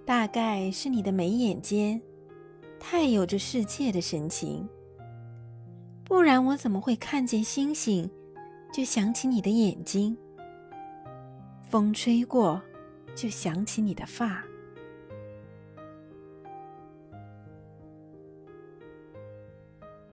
大概是你的眉眼间太有着世界的神情，不然我怎么会看见星星就想起你的眼睛，风吹过就想起你的发。